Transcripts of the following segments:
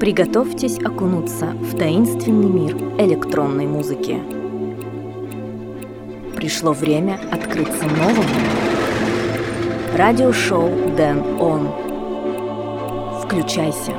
Приготовьтесь окунуться в таинственный мир электронной музыки. Пришло время открыться новому. Радиошоу Dance On. Включайся.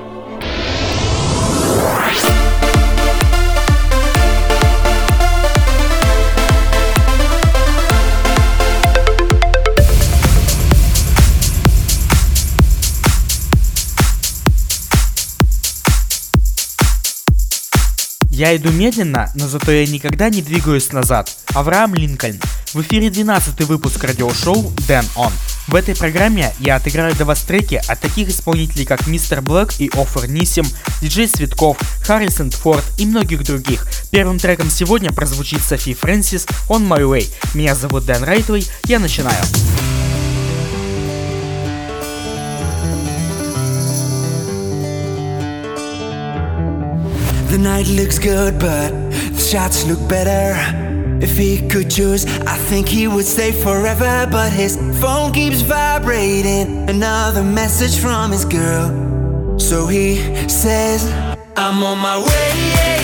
Я иду медленно, но зато я никогда не двигаюсь назад. Авраам Линкольн. В эфире 12-й выпуск радиошоу Dance On. В этой программе я отыграю для вас треки от таких исполнителей, как Мистер Блэк и Оффер Нисим, диджей Цветков, Харрисон Форд и многих других. Первым треком сегодня прозвучит Софи Фрэнсис On My Way. Меня зовут Дэн Райтвей, я начинаю. The night looks good, but the shots look better. If he could choose, I think he would stay forever. But his phone keeps vibrating, another message from his girl. So he says, I'm on my way,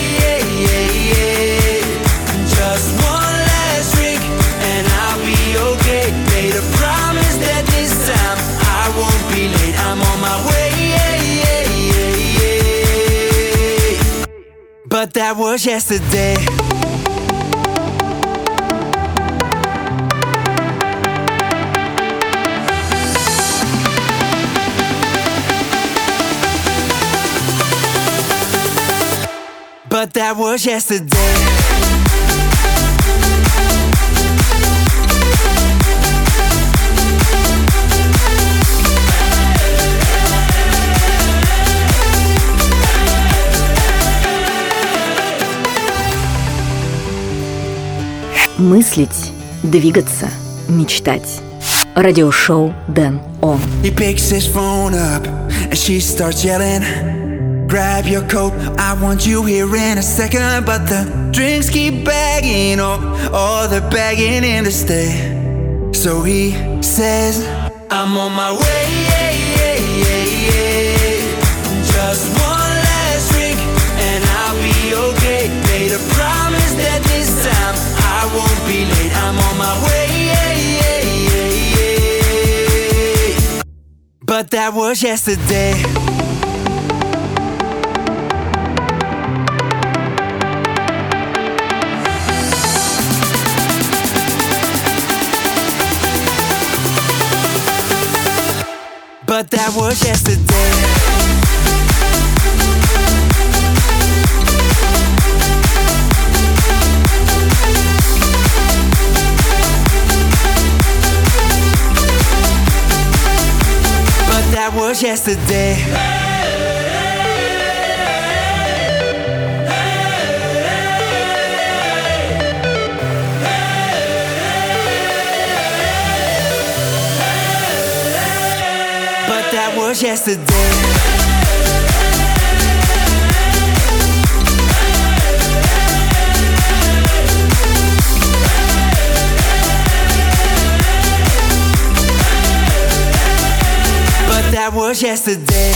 just one last drink and I'll be okay. Made a promise that this time I won't be late. I'm on my way. But that was yesterday. But that was yesterday. Мыслить, двигаться, мечтать. Радиошоу Dance On. He picks his phone up and she starts yelling, grab your coat, I want you here in a second. But the drinks keep bagging, oh, they're begging him to stay. So he says, I'm on my way, just one last drink and I'll be okay. Made a promise that this time I won't be late. I'm on my way. But that was yesterday. But that was yesterday. That was yesterday. But that was yesterday. That was yesterday.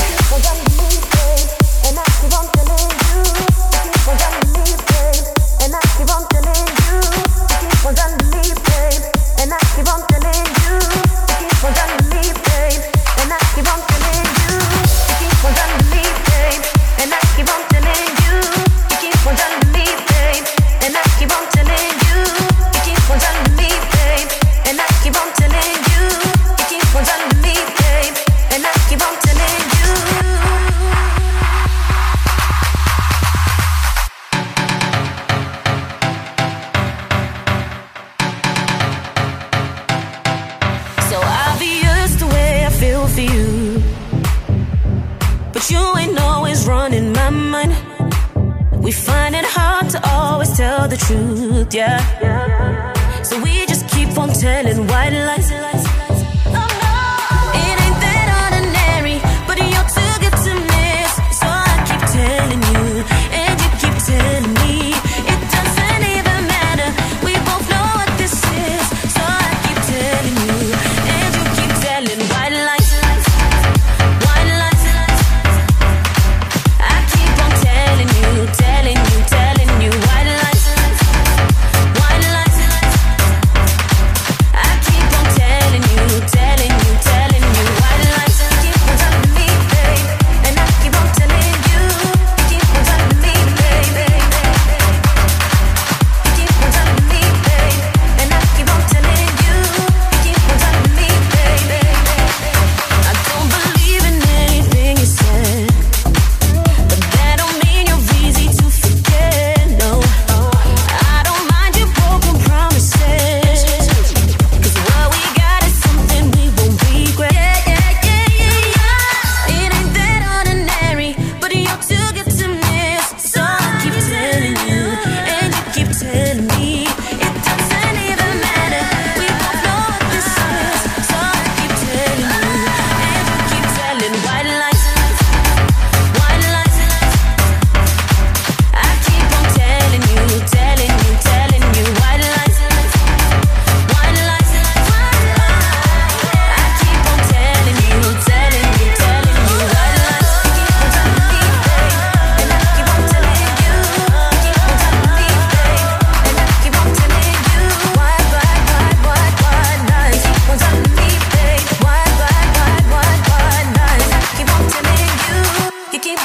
The truth, yeah. So we just keep on telling white lies. Oh no, it ain't that ordinary, but you're too good to miss. So I keep telling you, and you keep telling me, it doesn't even matter. We both know what this is. So I keep telling you, and you keep telling white lies, white lies. I keep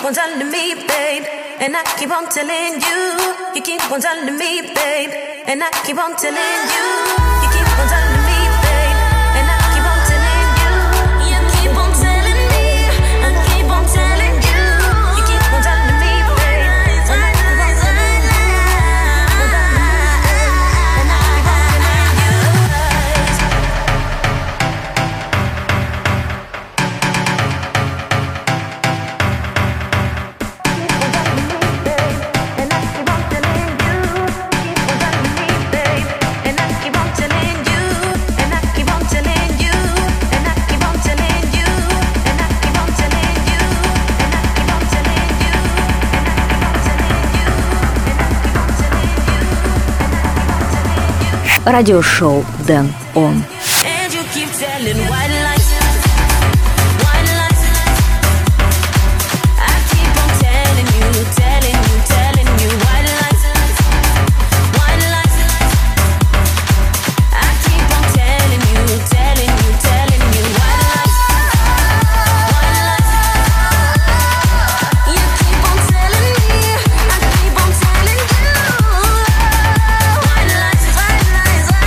on telling me, babe, and I keep on telling you. You keep on telling me, babe, and I keep on telling you. You keep on telling me, babe, and I keep on telling you. You keep on telling me, I keep on telling you. You keep on telling me, babe, and I keep on telling you. And I keep on telling you. Радиошоу Дэн Он. And you keep telling white lies, white lies. I keep on telling you, telling you, telling you white lies, white lies. I keep on telling you, telling you, telling you white lies, white lies. You keep on telling me, I keep on telling you white lies, white lies, white lies.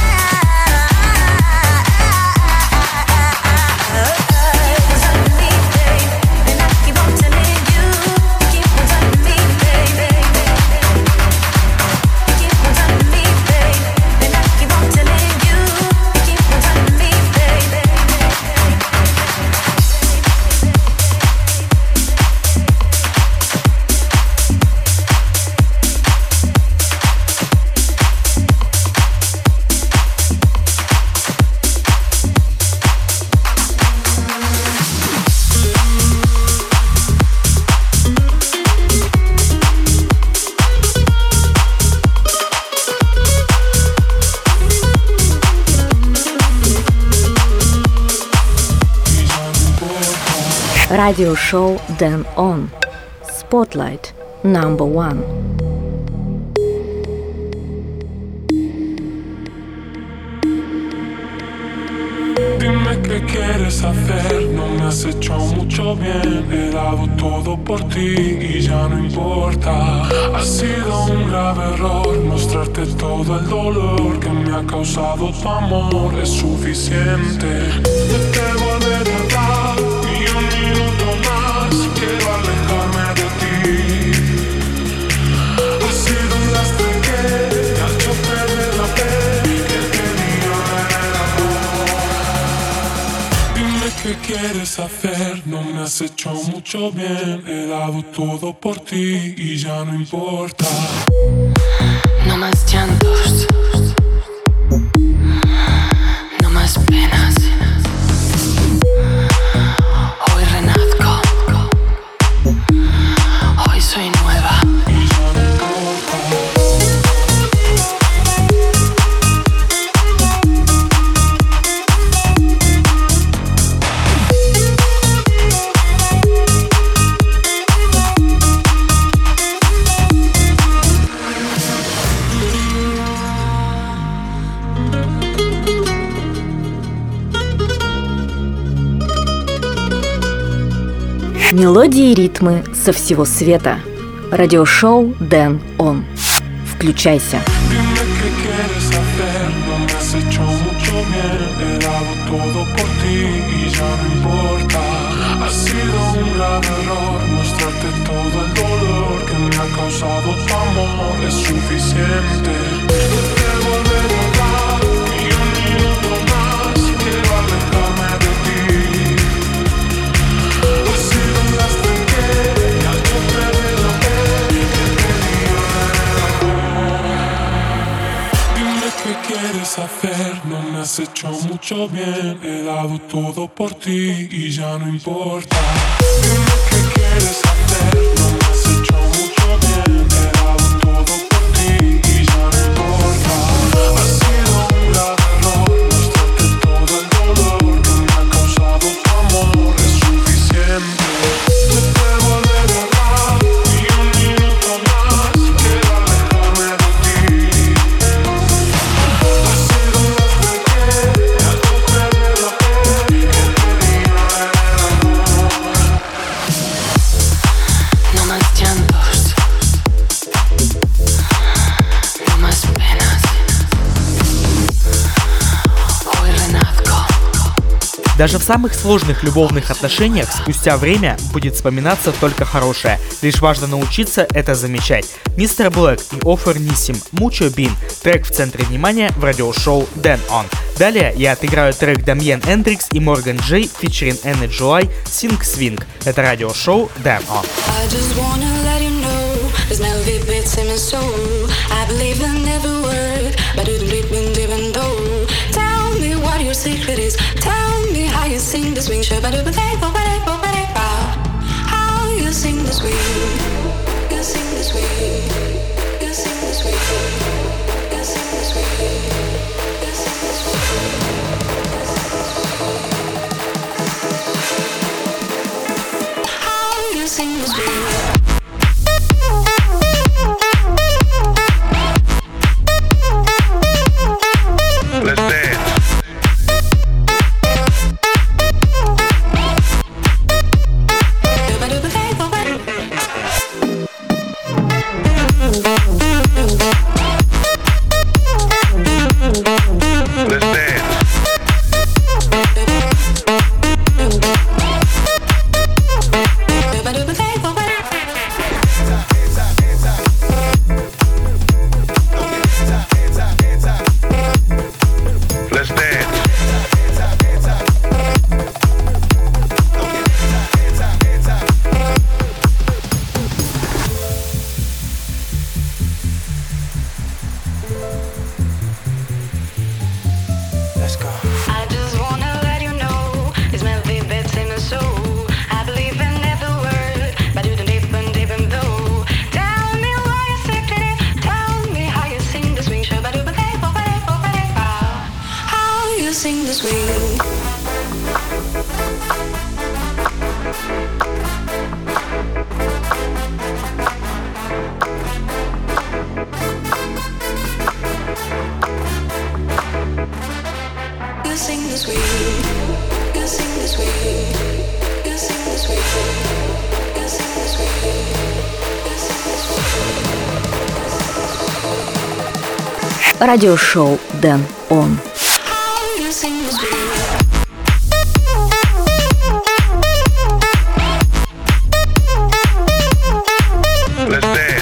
Радиошоу Дэн Он. Spotlight number 1. Dime qué quieres hacer, no me has hecho mucho bien. He dado todo por ti y ya no importa. Ha sido un grave error mostrarte todo el dolor que me ha causado tu amor. Es suficiente. No te volveré a dar ni un minuto más. Quiero alejarme de ti. Ha sido un lastre que te ha hecho perder la fe que tenía en el amor. Dime qué quieres hacer, no me has hecho mucho bien. He dado todo por ti y ya no importa. No más llantos, no más penas. Hoy renazco, hoy soy nueva. Y ya no importa. Мелодии и ритмы со всего света. Радиошоу Дэн Он. Включайся. Dime qué quieres hacer, no me has hecho mucho bien. He dado todo por ti y ya no importa. Ha sido un grave error mostrarte todo el dolor que me ha causado tu amor. Es suficiente. No te volveré a dar ni un minuto más. Quiero alejarme de ti. Ha sido un lastre que te ha hecho perder la fe que tenía en el amor. Dime qué quieres hacer, no me has hecho mucho bien. He dado todo por ti y ya no importa. Dime qué quieres hacer, no me has hecho mucho bien. He dado todo por ti y ya no importa. Ha sido un grave error mostrarte todo el dolor que me ha causado tu amor. Es suficiente. No te volveré a dar ni un minuto más. Quiero alejarme de ti. Ha sido un lastre que te ha hecho perder la fe que tenía en el amor. Даже в самых сложных любовных отношениях спустя время будет вспоминаться только хорошее. Лишь важно научиться это замечать. Мистер Блэк и Офер Нисим Mucho Bean, трек в центре внимания в радиошоу Dan On. Далее я отыграю трек Дамьен Эндрикс и Морган Джей featuring Anna July Sing Swing. Это радиошоу Dan On. I just wanna let you know there's melody bits in my soul. I believe in every word, but it didn't even though. Tell me what your secret is. Tell me how you sing the swing. How you sing the swing. You sing the swing. You sing the swing. You sing the swing. You sing the swing. How you sing the swing. Let's dance. Sing the swing. You sing the swing. You sing the swing. You sing the swing. You sing the swing. You sing the swing. Радиошоу Dan On. You sing the swing. Let's dance.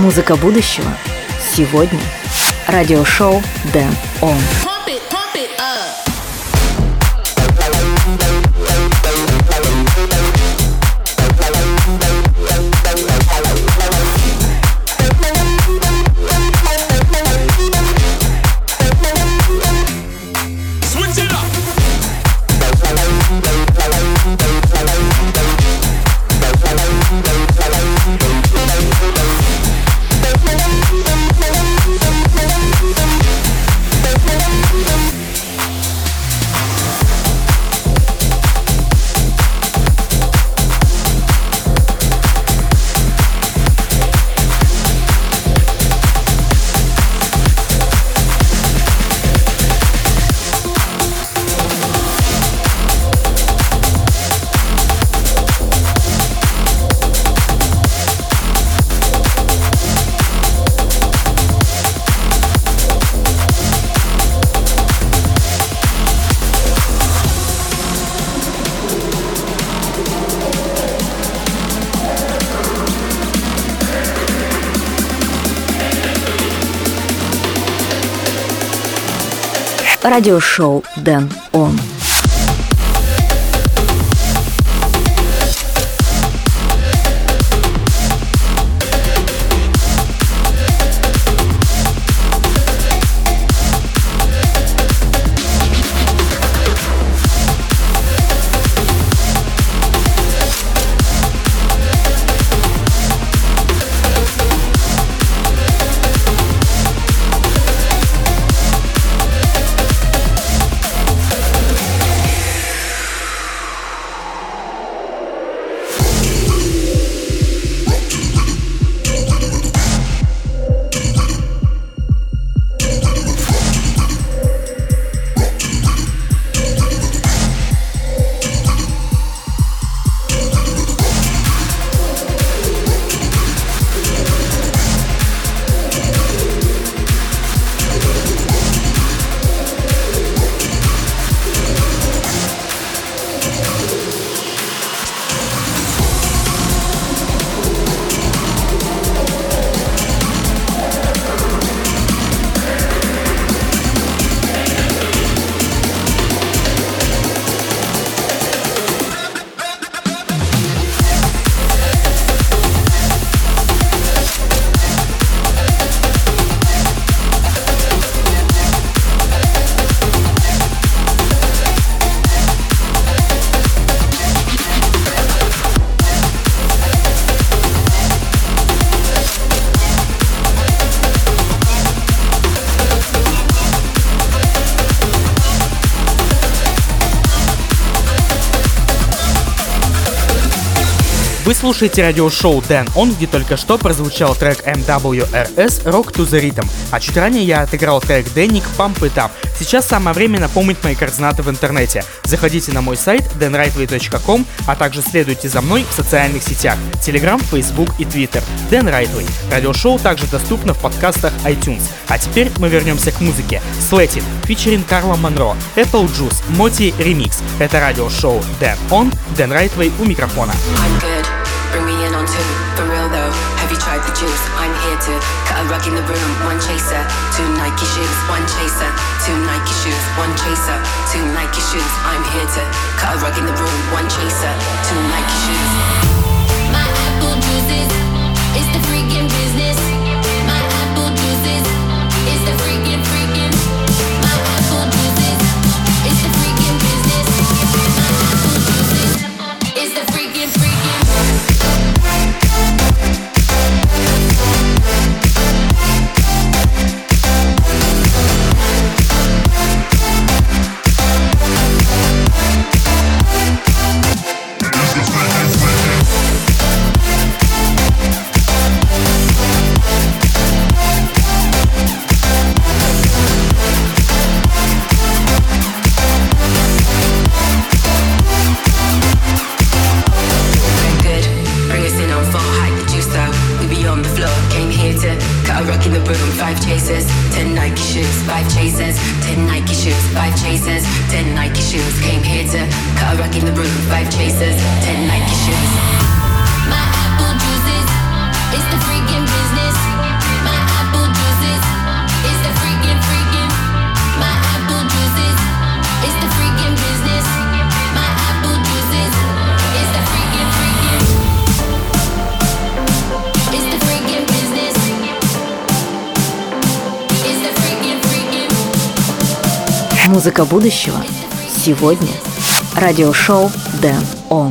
Музыка будущего сегодня. Радиошоу Dan On. Радиошоу Dan On. Вы слушаете радиошоу Dan On, где только что прозвучал трек MWRS Rock to the Rhythm, а чуть ранее я отыграл трек Danik Pump It Up. Сейчас самое время напомнить мои координаты в интернете. Заходите на мой сайт danrightway.com, а также следуйте за мной в социальных сетях Telegram, Facebook и Twitter. Dan Rightway. Радиошоу также доступно в подкастах iTunes. А теперь мы вернемся к музыке. Sweating, featuring Карла Монро, Apple Juice, Moti Remix. Это радиошоу Dan On, Dan Rightway у микрофона. Bring me in on two, for real though. Have you tried the juice? I'm here to cut a rug in the room. One chaser, two Nike shoes. One chaser, two Nike shoes. One chaser, two Nike shoes. I'm here to cut a rug in the room. One chaser, two Nike shoes. My apple juices is the freaking business. My apple juices is the freaking. My apple juices is the freaking business. My apple juices is the freaking. Five chasers, 10 Nike shoes. 5 chasers, 10 Nike shoes. 5 chasers, 10 Nike shoes. Came here to cut a rug in the room. 5 chasers, 10 Nike shoes. My apple juices, it's the freaking business. Музыка будущего сегодня. Радиошоу Dan On.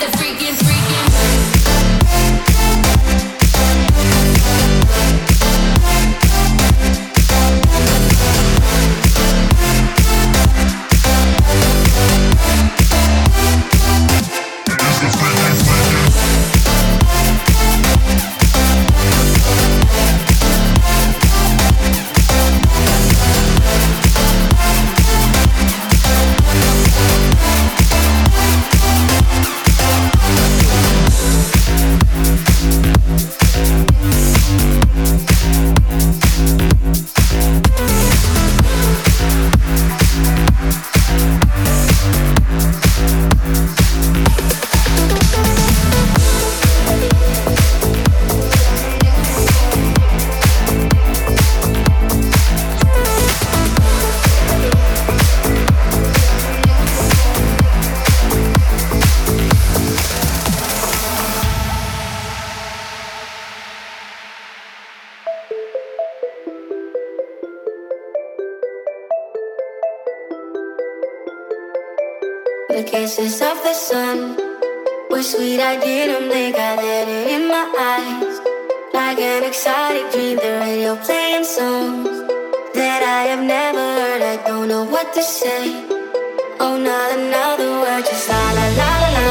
The kisses of the sun were sweet, I didn't blink, I let it in my eyes. Like an exotic dream, the radio playing songs that I have never heard, I don't know what to say. Oh, not another word, just la la la la la.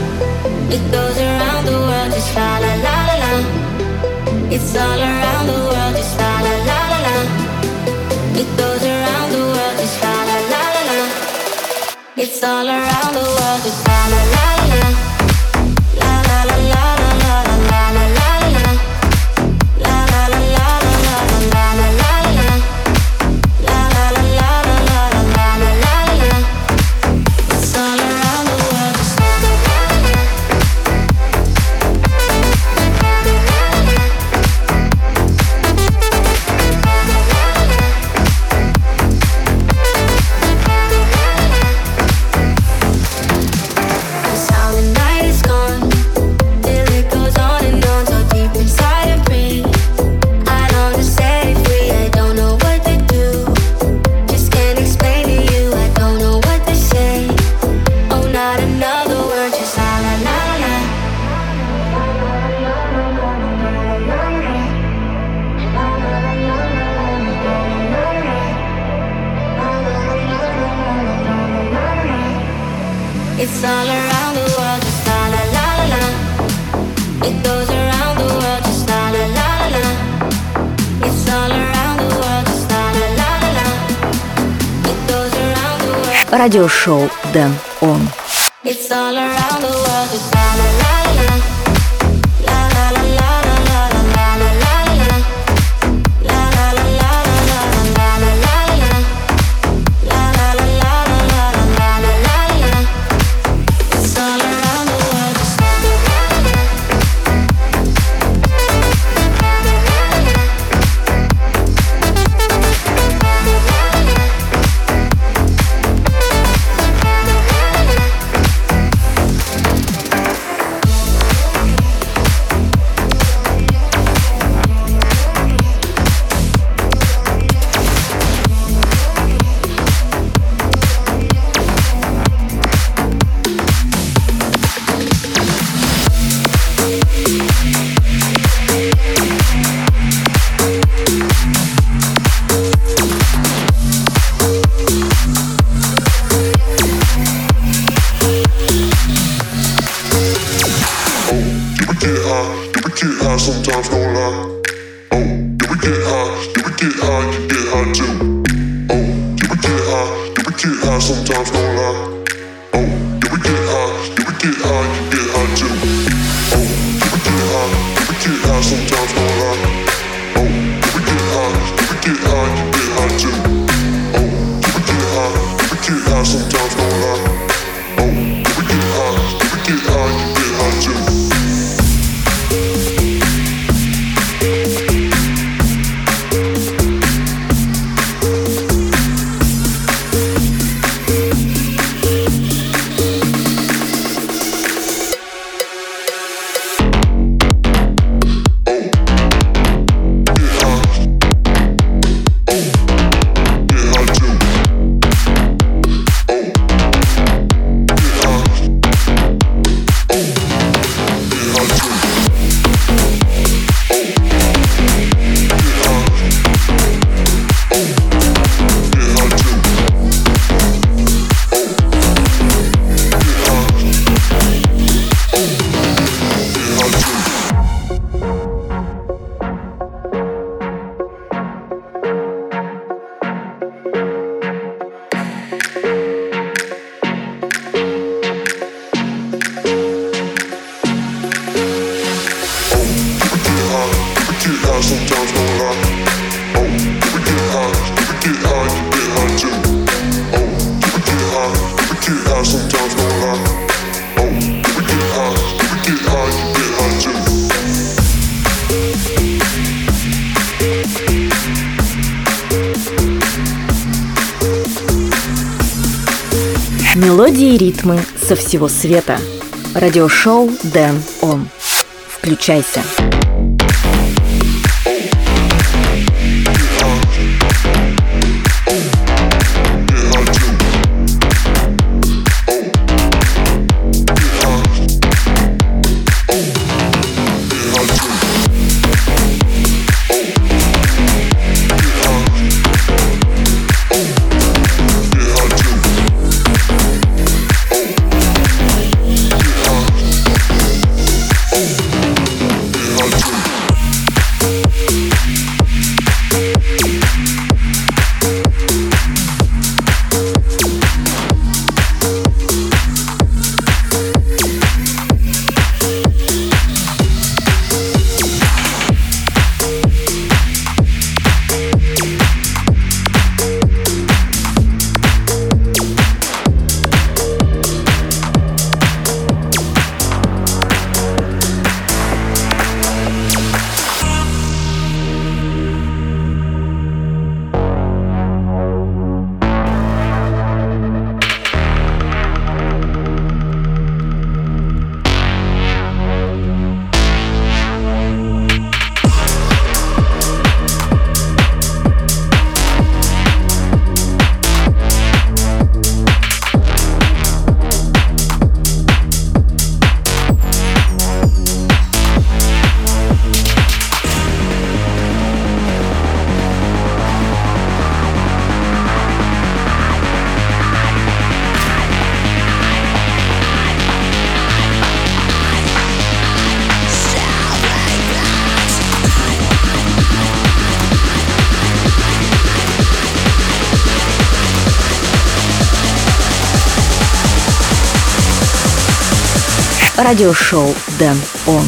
It goes around the world, just la la la la la. It's all around the world, just la la la la la. It goes around the world, just la la la la la. It's all around the world, just la la la la. La la la la la la la la la la. La la la la la la la la la. La la la la la la la la la. It's all around the world, just la la la la. It's all around the world, just la la la la la. It goes around the world, just la la la la la. It's all around the world, just la la la la la. It goes around the world. Радиошоу Dan On. It's all around the world, just la la la la la. La la la la la la la la la la. La la la la la la la la la. La la la la la la la la la. It's all around the world, just la la la la. Sometimes no lie. Oh, yeah, we get high, yeah, we get high, you get high too. Oh, yeah, we get high, yeah, we get high, sometimes no lie. Oh, yeah, we get high, yeah, we get high, you get high too. Oh, yeah, we get high, yeah, we get high, sometimes no lie. Oh, yeah, we get high, yeah, we get high, you get high too. Oh, yeah, we get high, yeah, we get high, sometimes no lie. Oh, yeah, we get high, yeah, we get high, you get high too. Мелодии и ритмы со всего света. Радиошоу Дэн Он. Включайся. Радиошоу Дэн Он.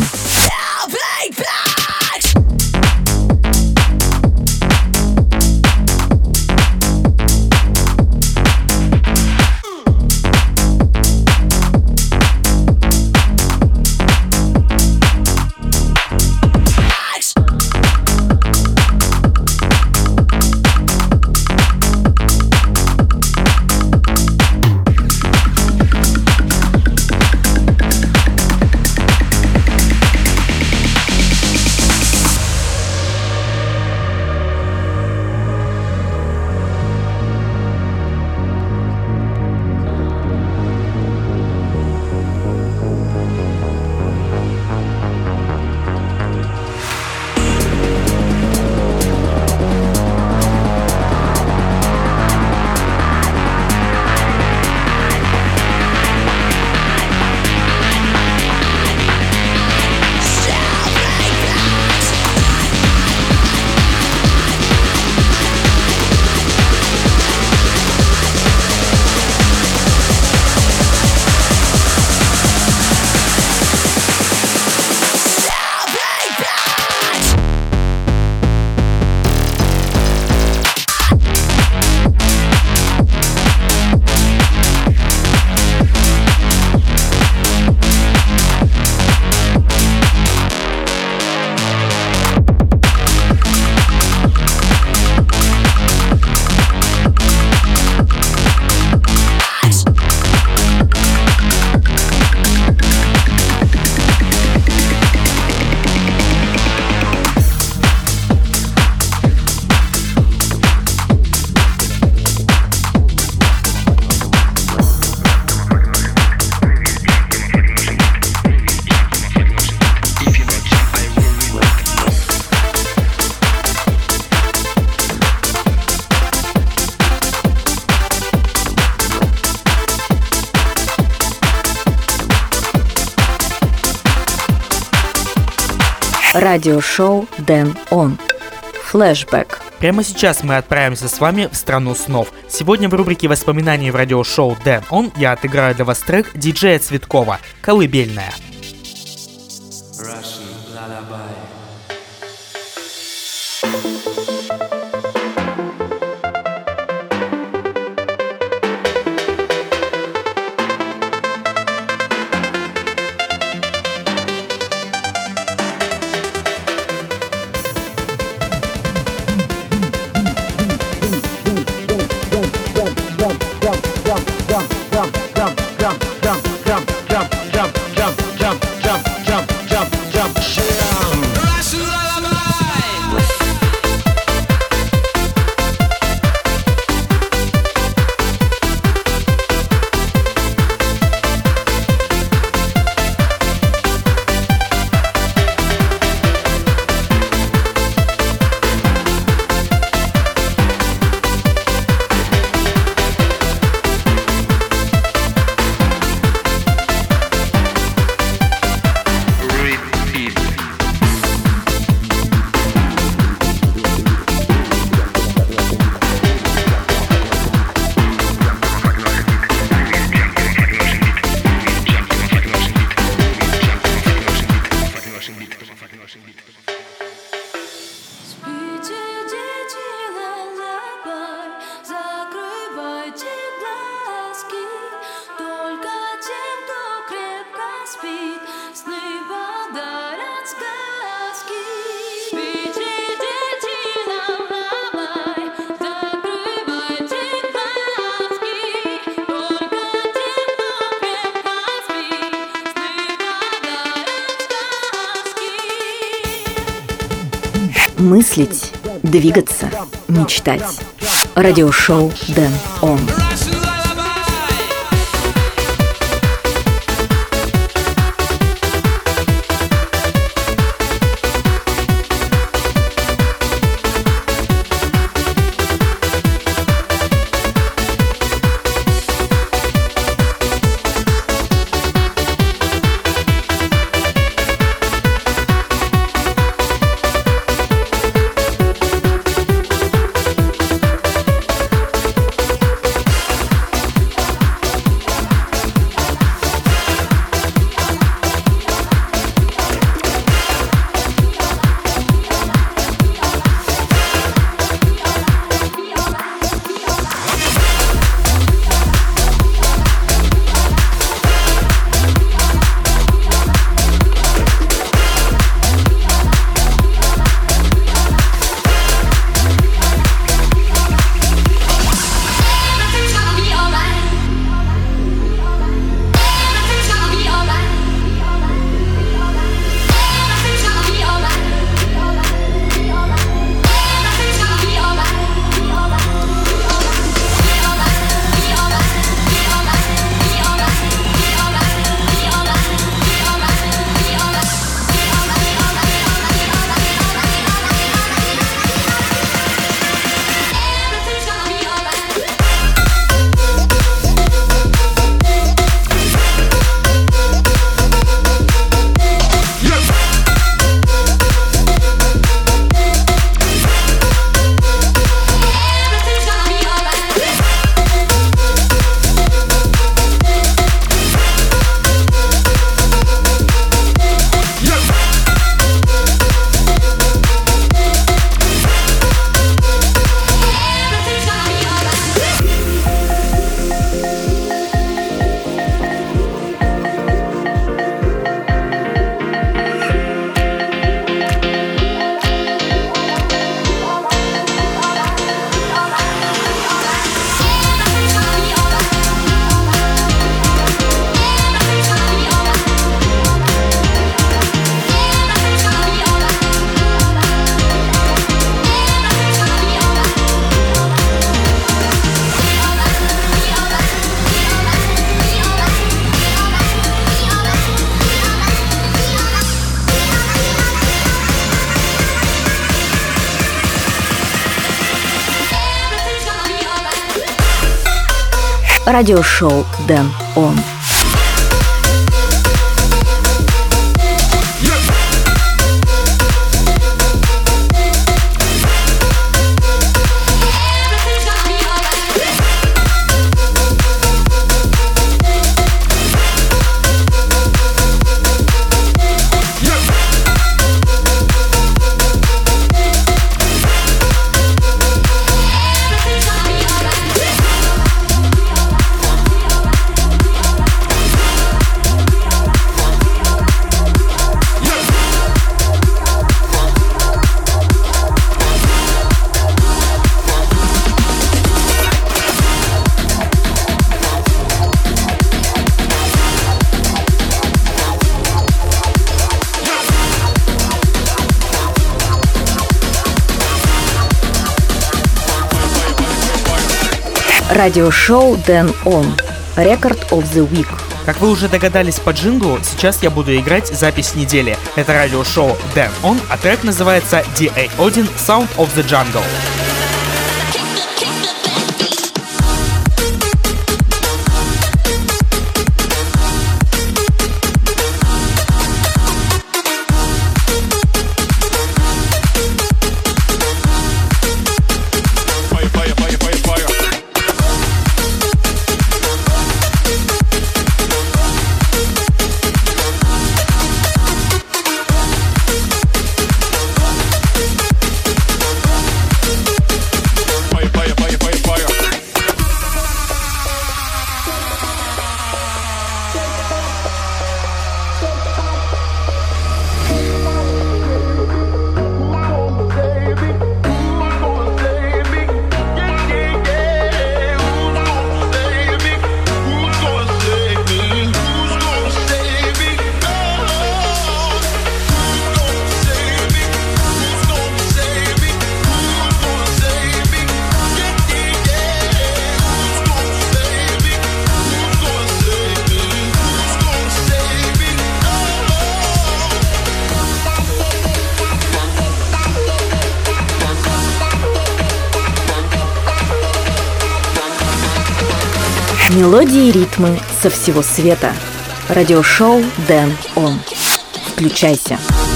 Радиошоу Дэн Он. Флэшбэк. Прямо сейчас мы отправимся с вами в страну снов. Сегодня в рубрике воспоминаний в радиошоу Дэн Он я отыграю для вас трек диджея Цветкова «Колыбельная». Jump. Мыслить, двигаться, мечтать. Радиошоу Дэн Он. Радиошоу Дэн Он. Радиошоу Дэн Он. Record of the Week. Как вы уже догадались по джинглу, сейчас я буду играть запись недели. Это радиошоу Дэн Он, а трек называется DA1 Sound of the Jungle. Мелодии и ритмы со всего света. Радиошоу Дэн Он. Включайся.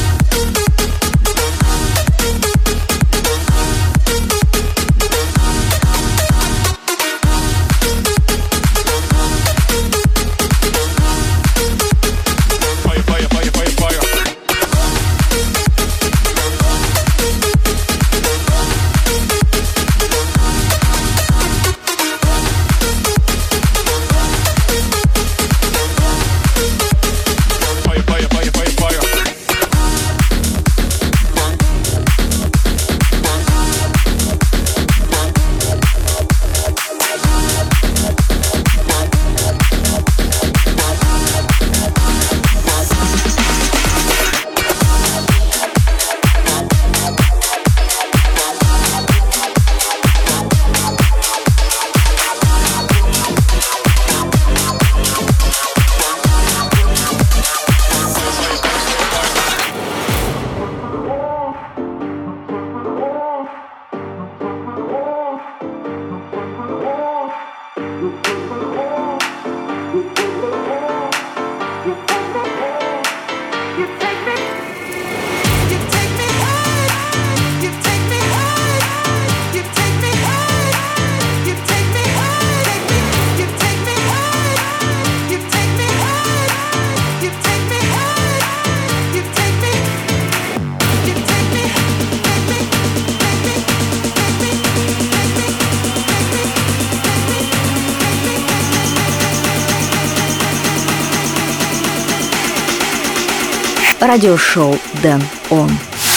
Радиошоу Дэн Он.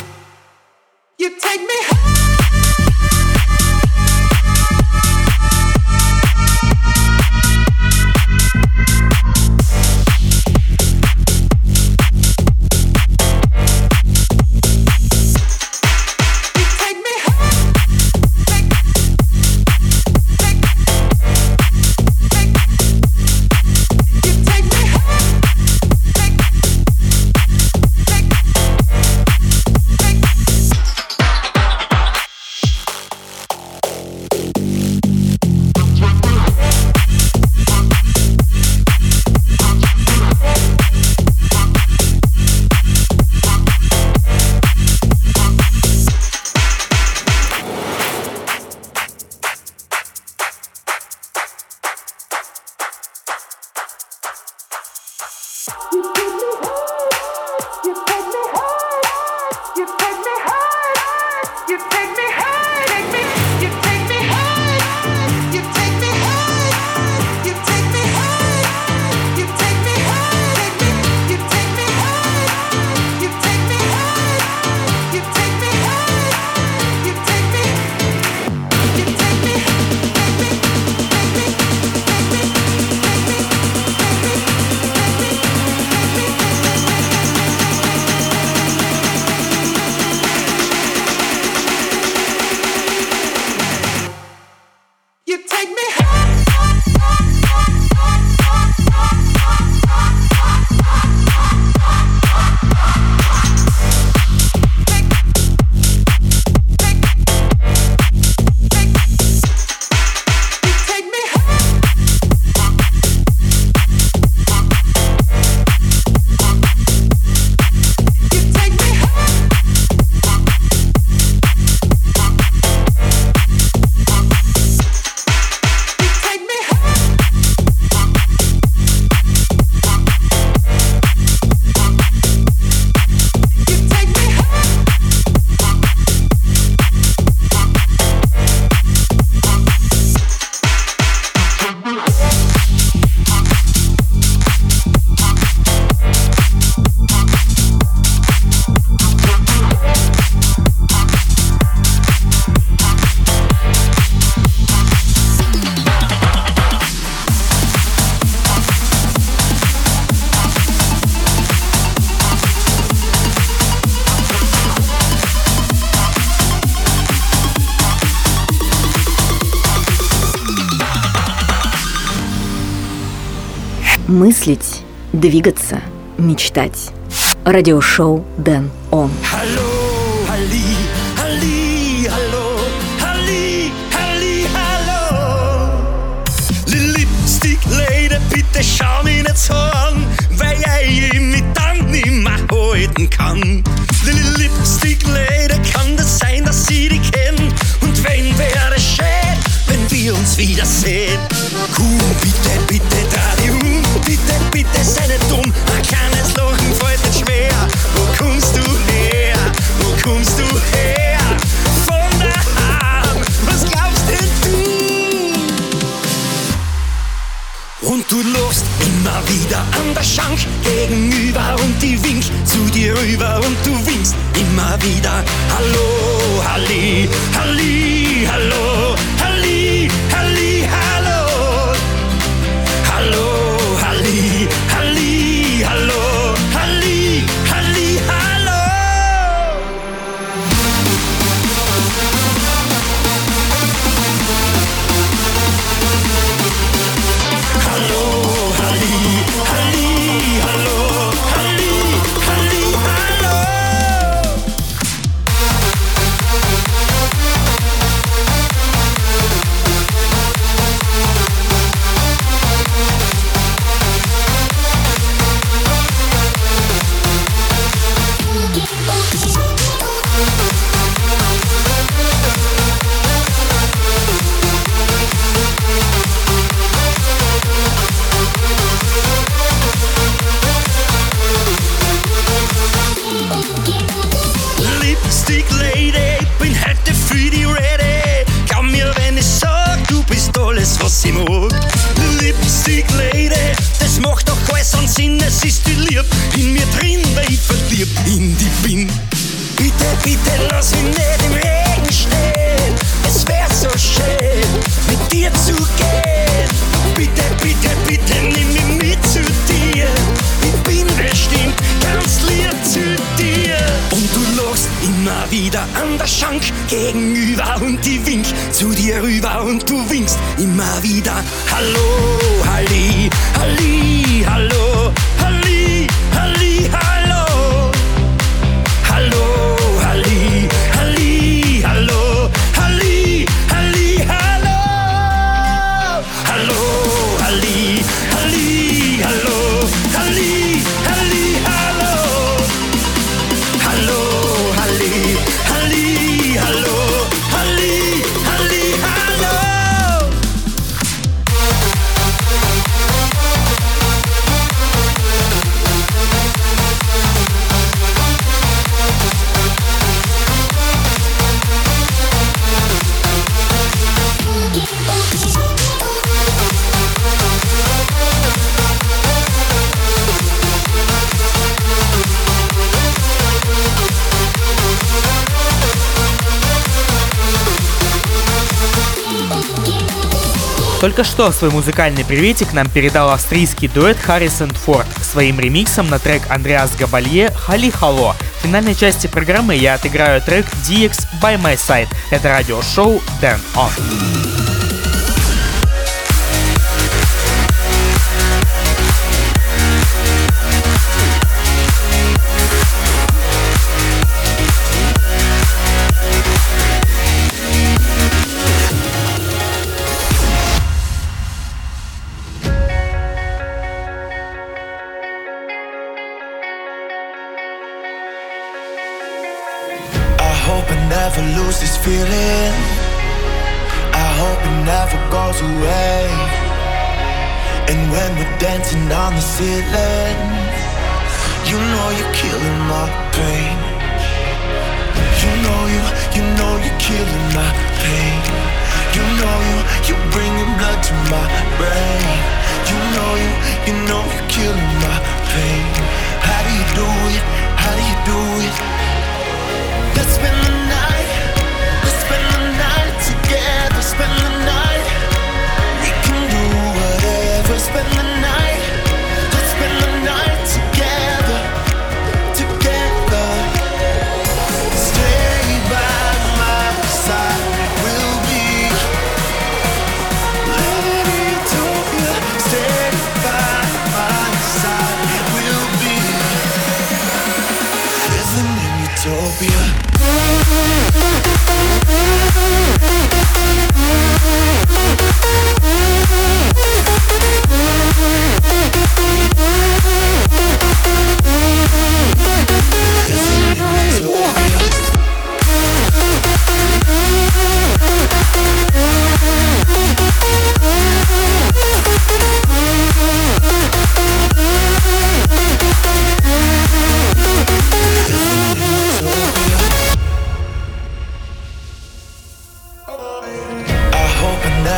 Мыслить, двигаться, мечтать. Радиошоу Дэн Он. Lipstick bitte schau mich nicht so an, weil ich mich dann nicht mehr halten kann. Lipstick Lady, kann das sein, dass ich dich kenn? Und wenn wäre es schön, wenn wir uns wiedersehen. Komm, bitte, bitte, dreh dich um, bitte, bitte, sei nicht dumm. Ein kleines Lachen fällt nicht schwer. Wo kommst du her? Wo kommst du her? Von daheim, was glaubst denn du? Und du lachst immer wieder an der Schank gegenüber und ich wink zu dir rüber und du winkst immer wieder. Hallo, Halli, Halli, hallo, Halli, Halli, hallo. Hallo, Halli, Halli, hallo, Halli, Halli, hallo. Hallo, Halli, Halli, hallo, Halli, Halli, hallo. Lipstick Lady, bin heute für die ready. Glaub mir, wenn ich sag, du bist alles, was ich mag. Lipstick Lady, das macht doch alles einen Sinn. Es ist die Liebe in mir drin, weil ich verliebt in dich bin. Bitte, bitte, lass mich nicht im Regen stehen. Es wär so schön, mit dir zu gehen. Bitte, bitte, bitte, nimm mich mit zu dir. Ich bin bestimmt ganz lieb zu dir. Und du lachst immer wieder an der Schank gegenüber und ich wink zu dir rüber und du winkst immer wieder. Hallo, Halli, Halli, hallo, Halli, Halli, hallo. Hallo, Halli, Halli, hallo, Halli, Halli, hallo. Hallo, Halli, Halli, hallo, Halli, Halli, hallo. Hallo, Halli, Halli, hallo, Halli, Halli, hallo. Только что свой музыкальный приветик нам передал австрийский дуэт Harrison Ford своим ремиксом на трек Андреас Габалье «Halli Hallo». В финальной части программы я отыграю трек DX By My Side. Это радиошоу Dan On. Never lose this feeling. I hope it never goes away. And when we're dancing on the ceiling, you know you're killing my pain. You know you're killing my pain. You know you're bringing blood to my brain. You know you're killing my pain. How do you do it? How do you do it? Let's spend the night. Let's spend the night together. Spend the night. We can do whatever. Spend the night. Let's spend the night together. Together. Stay by my side. We'll be living in utopia. Stay by my side. We'll be living in utopia.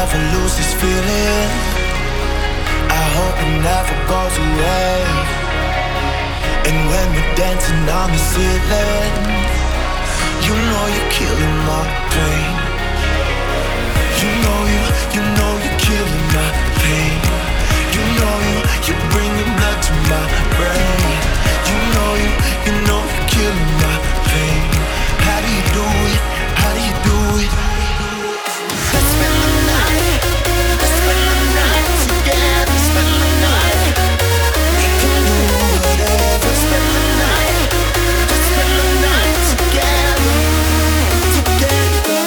never lose this feeling. I hope it never goes away. And when we're dancing on the ceiling, you know you're killing my pain. You know you're killing my pain. You're bringing blood to my brain. You know you're killing my pain. How do you do it? How do you do it? Let's spend the night. Let's spend the night together. Spend the night. We can do whatever. Spend the night. Let's spend the night together. Together.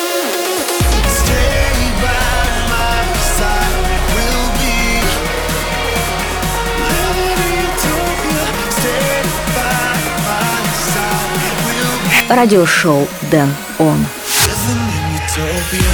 Stay by my side. We'll be living utopia. Stay by my side. We'll be Радиошоу Дэн Он. living in utopia.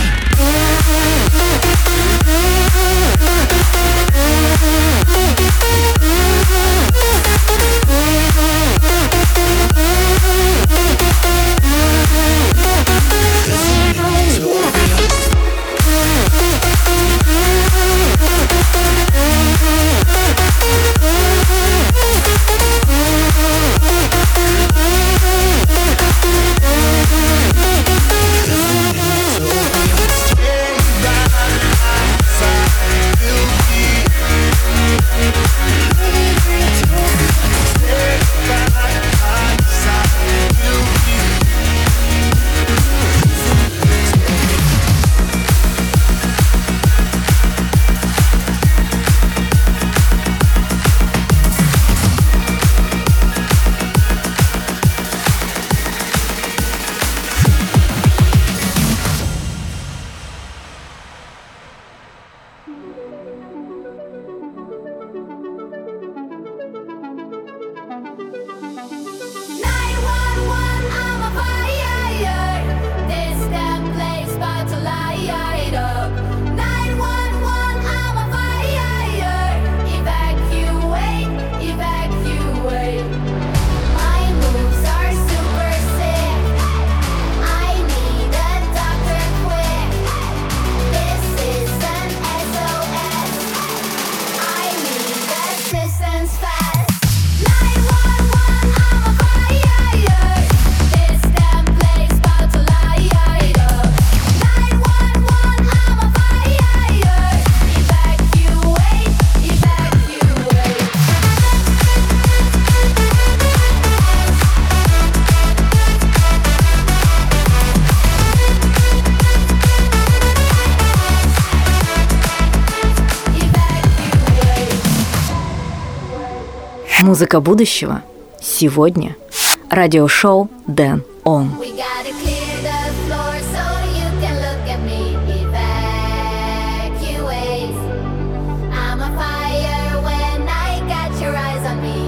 Музыка будущего сегодня. Радиошоу Дэн Он. We gotta clear the floor so you can look at me. Evacuate. I'm on fire when I got your eyes on me.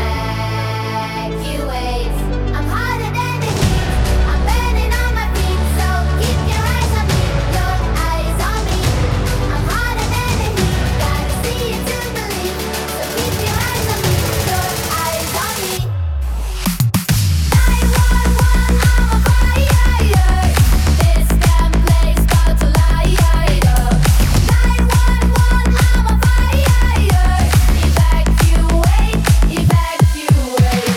Evacuate. I'm hotter than the heat. I'm burning on my feet, so keep your eyes on me. Your eyes on me. I'm hotter than the heat. Gotta see it to believe. So keep your eyes on me. Your eyes on me. 911, I'm on fire. This damn place about to light up. 911, I'm on fire. Evacuate, evacuate.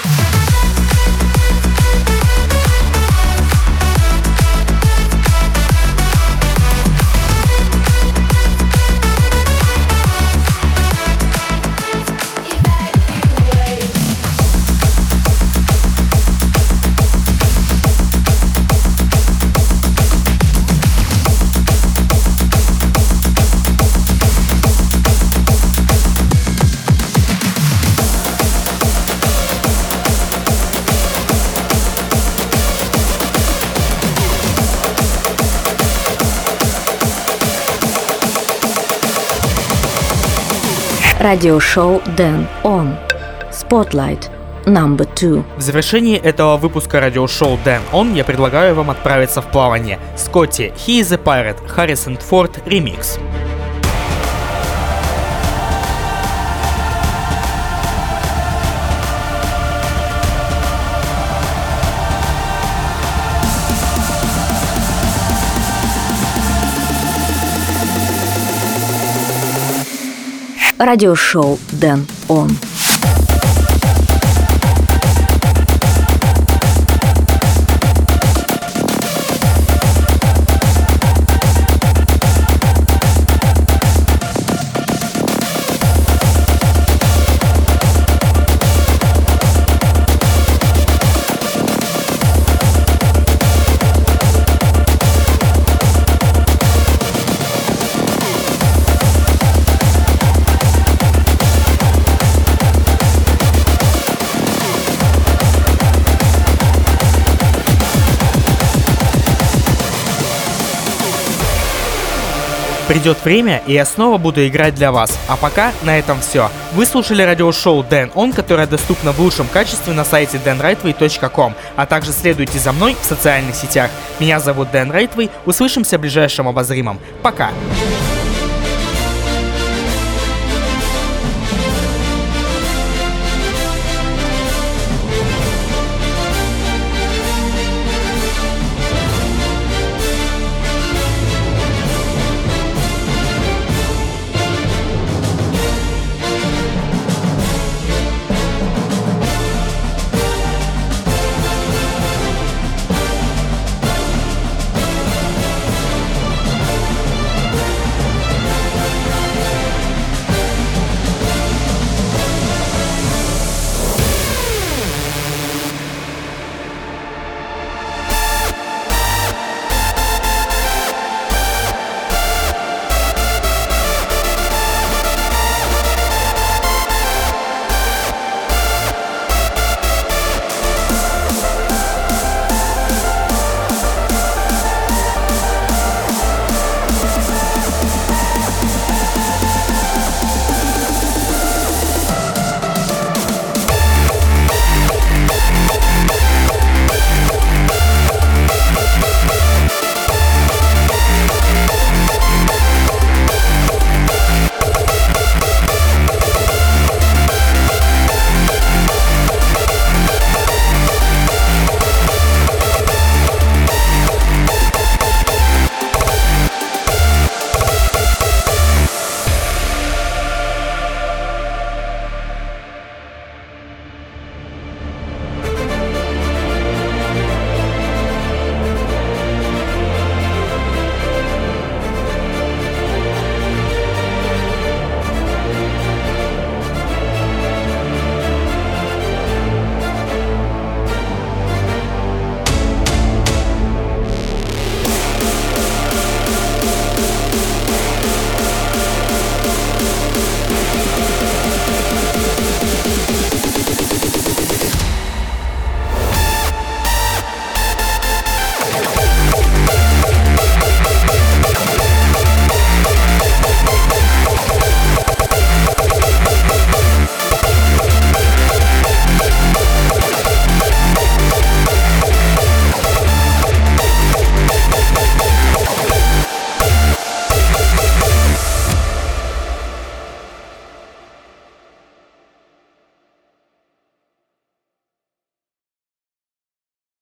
Радиошоу Дэн Он. Spotlight Number 2. В завершении этого выпуска радиошоу Дэн Он я предлагаю вам отправиться в плавание. Scotty, He is a Pirate, Harrison Ford ремикс. радиошоу Дэн Он. Придет время, и я снова буду играть для вас. А пока на этом все. Вы слушали радиошоу Дэн Он, которое доступно в лучшем качестве на сайте danrightway.com, а также следуйте за мной в социальных сетях. Меня зовут Дэн Райтвей. Услышимся в ближайшем обозримом. Пока!